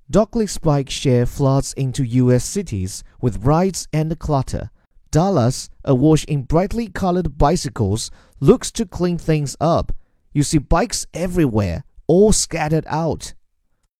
Douglas bike share floods into U.S. cities with rides and clutter. Dallas, awash in brightly colored bicycles, looks to clean things up. You see bikes everywhere, all scattered out.